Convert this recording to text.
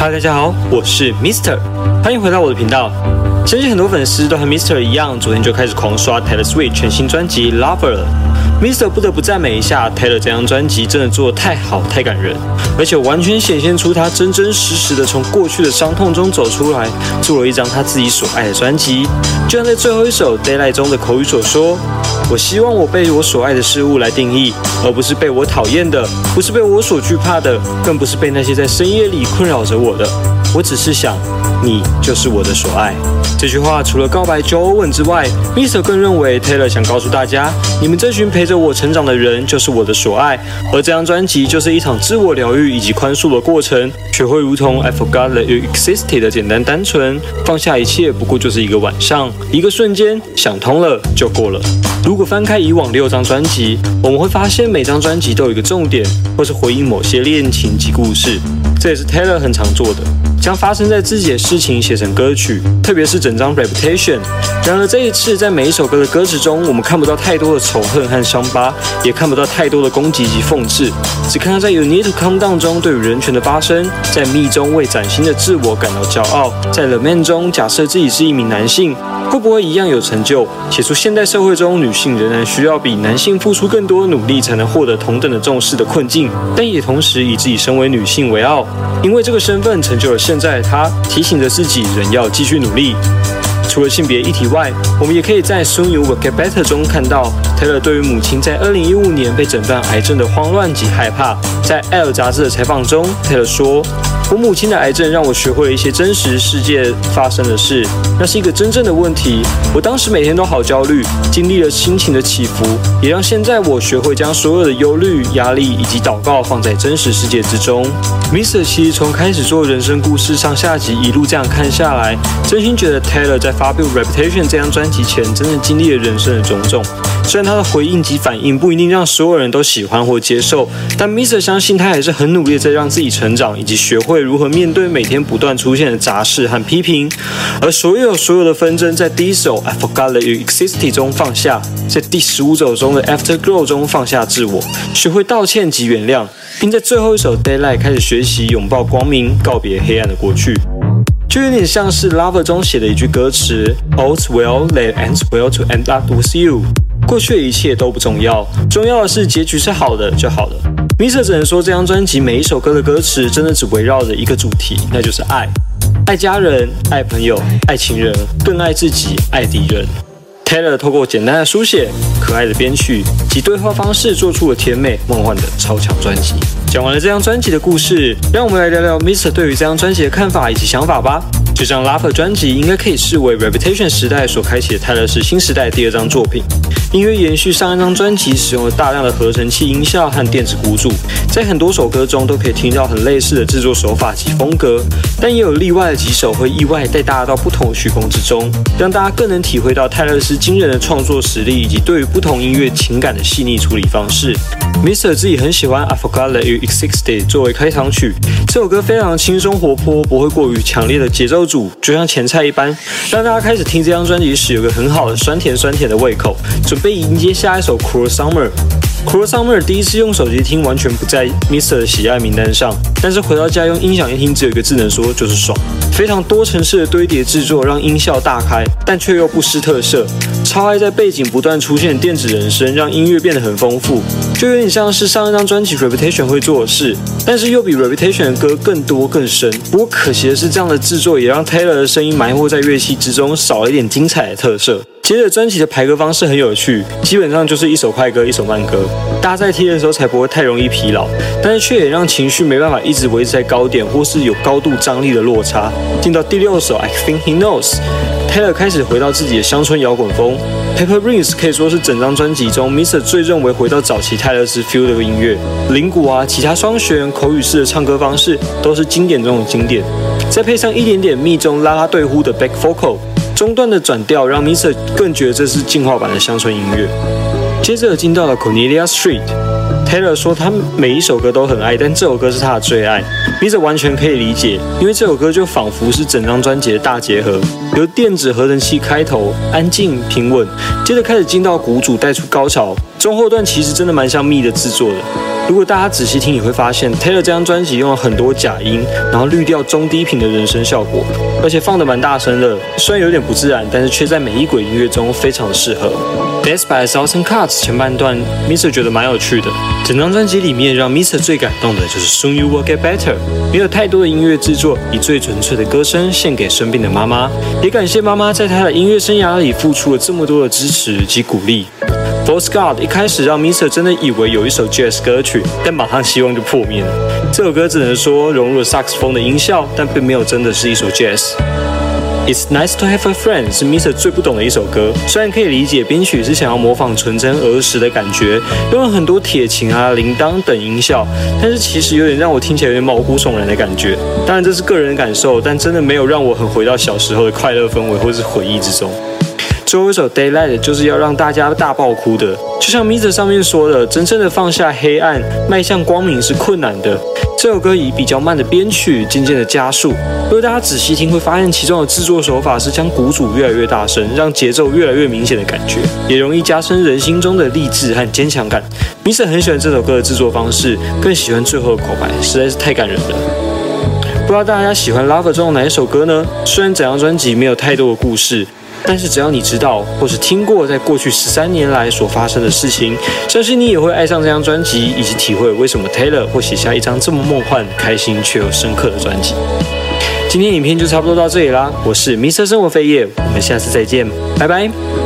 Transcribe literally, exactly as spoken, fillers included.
Hello， 大家好，我是 Mister， 欢迎回到我的频道。相信很多粉丝都和 Mister 一样，昨天就开始狂刷 Taylor Swift 全新专辑 Lover 了。Mister 不得不赞美一下 Taylor 这张专辑真的做得太好太感人，而且完全显现出他真真实实的从过去的伤痛中走出来，做了一张他自己所爱的专辑。就像在最后一首 Daylight 中的口语所说，我希望我被我所爱的事物来定义，而不是被我讨厌的，不是被我所惧怕的，更不是被那些在深夜里困扰着我的。我只是想，你就是我的所爱。这句话除了告白 Joe Owen 之外 ，Mister 更认为 Taylor 想告诉大家，你们这群陪着我成长的人就是我的所爱，而这张专辑就是一场自我疗愈以及宽恕的过程。学会如同 I forgot that you existed 的简单单纯，放下一切不过就是一个晚上，一个瞬间，想通了就过了。如果翻开以往六张专辑，我们会发现每张专辑都有一个重点，或是回应某些恋情及故事，这也是 Taylor 很常做的。将发生在自己的事情写成歌曲，特别是整张 Reputation。然而这一次，在每一首歌的歌词中，我们看不到太多的仇恨和伤疤，也看不到太多的攻击及讽刺，只看到在 You Need to Calm Down 中对于人权的发声，在 Me 中为崭新的自我感到骄傲，在 The Man 中假设自己是一名男性，会不会一样有成就？写出现代社会中女性仍然需要比男性付出更多努力才能获得同等的重视的困境，但也同时以自己身为女性为傲，因为这个身份成就了现在的她，提醒着自己仍要继续努力。除了性别议题外，我们也可以在 Soon You Will Get Better 中看到 Taylor 对于母亲在二零一五年被诊断癌症的慌乱及害怕。在《Elle》杂志的采访中 ，Taylor 说：“我母亲的癌症让我学会了一些真实世界发生的事，那是一个真正的问题。我当时每天都好焦虑，经历了心情的起伏，也让现在我学会将所有的忧虑、压力以及祷告放在真实世界之中。” Mister 其实从开始做人生故事上下集一路这样看下来，真心觉得 Taylor 在发表 Reputation 这张专辑前，真正经历了人生的种种。虽然他的回应及反应不一定让所有人都喜欢或接受，但 Mister 相信他还是很努力的在让自己成长，以及学会如何面对每天不断出现的杂事和批评。而所有所有的纷争，在第一首 I forgot that you existed 中放下，在第十五首中的 Afterglow 中放下自我，学会道歉及原谅，并在最后一首 Daylight 开始学习拥抱光明，告别黑暗的过去。就有点像是 Lover 中写的一句歌词 All's well that ends well to end up with you。 过去的一切都不重要，重要的是结局是好的就好了。Mister 只能说这张专辑每一首歌的歌词真的只围绕着一个主题，那就是爱。爱家人，爱朋友，爱情人，更爱自己，爱敌人。Taylor 透过简单的书写、可爱的编曲及对话方式，做出了甜美梦幻的超强专辑。讲完了这张专辑的故事，让我们来聊聊 Mister 对于这张专辑的看法以及想法吧。这张 Lover 专辑应该可以视为 Reputation 时代所开启的泰勒斯新时代第二张作品。音乐延续上一张专辑，使用了大量的合成器音效和电子鼓组，在很多首歌中都可以听到很类似的制作手法及风格，但也有例外的几首会意外带大家到不同曲风之中，让大家更能体会到泰勒斯惊人的创作实力以及对于不同音乐情感的细腻处理方式。Mister 自己很喜欢 I forgot that you existed 作为开场曲，这首歌非常轻松活泼，不会过于强烈的节奏组，就像前菜一般，让大家开始听这张专辑时有个很好的酸甜酸甜的胃口，准备迎接下一首 Cruel Summer。Cruel Summer 第一次用手机听完全不在 Mister 的喜爱名单上，但是回到家用音响一听，只有一个字能说，就是爽。非常多层次的堆叠制作让音效大开，但却又不失特色。超爱在背景不断出现电子人声，让音乐变得很丰富，就有点像是上一张专辑 Reputation 会做的事，但是又比 Reputation 的歌更多更深。不过可惜的是，这样的制作也让 Taylor 的声音埋没在乐器之中，少了一点精彩的特色。接着专辑的排歌方式很有趣，基本上就是一首快歌一首慢歌，大家在听的时候才不会太容易疲劳，但是却也让情绪没办法一直维持在高点，或是有高度张力的落差。进到第六首 I Think He Knows， Taylor 开始回到自己的乡村摇滚风。Paper Rings 可以说是整张专辑中 Mister 最认为回到早期泰勒斯 feel 的音乐，铃鼓啊、吉他双弦、口语式的唱歌方式都是经典中的经典，再配上一点点密中拉拉队呼的 back vocal， 中段的转调让 Mister 更觉得这是进化版的乡村音乐。接着进到了 Cornelia Street。 Taylor 说他每一首歌都很爱，但这首歌是他的最爱。Mister 完全可以理解，因为这首歌就仿佛是整张专辑的大结合，由电子合成器开头，安静平稳，接着开始进到鼓组带出高潮，中后段其实真的蛮像 Me 的制作的。如果大家仔细听，你会发现 Taylor 这张专辑用了很多假音，然后滤掉中低频的人声效果，而且放得蛮大声的，虽然有点不自然，但是却在每一轨音乐中非常适合。Death by a Thousand Cuts 前半段 Mister 觉得蛮有趣的，整张专辑里面让 Mister 最感动的就是 Soon You Will Get Better， 没有太多的音乐制作，以最纯粹的歌声献给生病的妈妈，也感谢妈妈在她的音乐生涯里付出了这么多的支持及鼓励。False God 一开始让 Mister 真的以为有一首 Jazz 歌曲，但马上希望就破灭了。这首歌只能说融入了萨克斯风的音效，但并没有真的是一首 Jazz。It's Nice to Have a Friend 是 Mister 最不懂的一首歌，虽然可以理解编曲是想要模仿纯真儿时的感觉，用了很多铁琴啊、铃铛等音效，但是其实有点让我听起来有点毛骨悚然的感觉。当然这是个人感受，但真的没有让我很回到小时候的快乐氛围或是回忆之中。最后一首 Daylight 就是要让大家大爆哭的，就像 Mister 上面说的，真正的放下黑暗，迈向光明是困难的。这首歌以比较慢的编曲，渐渐的加速。如果大家仔细听，会发现其中的制作手法是将鼓组越来越大声，让节奏越来越明显的感觉，也容易加深人心中的励志和坚强感。Mister 很喜欢这首歌的制作方式，更喜欢最后的口白，实在是太感人了。不知道大家喜欢 Lover 中的哪一首歌呢？虽然整张专辑没有太多的故事，但是只要你知道或是听过在过去十三年来所发生的事情，相信你也会爱上这张专辑，以及体会为什么 Taylor 会写下一张这么梦幻、开心却又深刻的专辑。今天影片就差不多到这里啦，我是 Mister 生活废业，我们下次再见，拜拜。